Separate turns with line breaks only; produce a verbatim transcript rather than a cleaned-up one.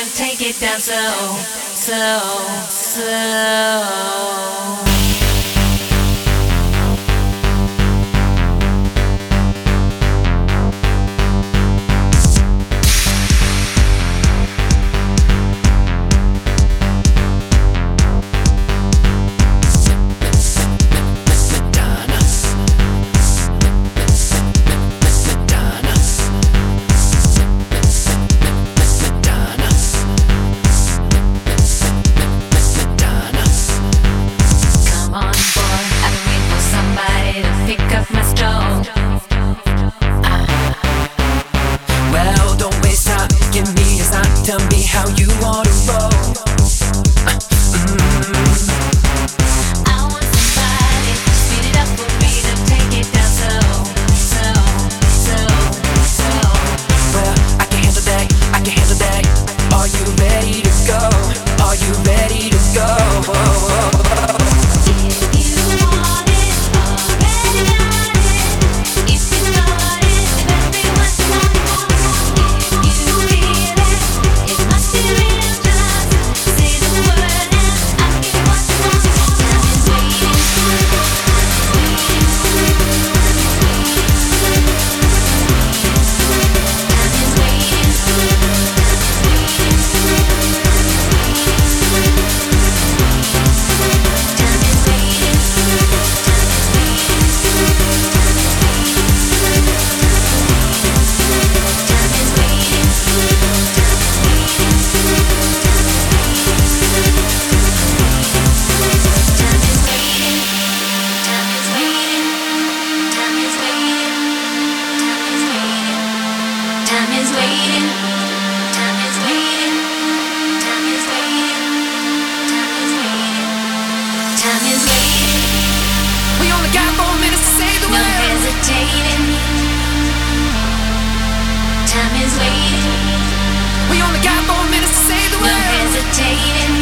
rhythm, take it down slow, slow, slow.
Tell me how you wanna roll. Uh, mm.
I want somebody to speed it up for me, to take it down slow, slow, slow, slow.
Well, I can handle that, I can handle that. Are you ready to go? Are you ready to go? Oh, oh, oh.
If you want it, already got it. If you got it, then everyone's got it. If you feel it, it must be real. Just say the word and I'll give you what you want. Time is waiting, waiting, waiting. Time is waiting,
We only got four minutes to say the
no
word.
hesitating. Time is waiting.
We only got four minutes to say the
No
word.
hesitating.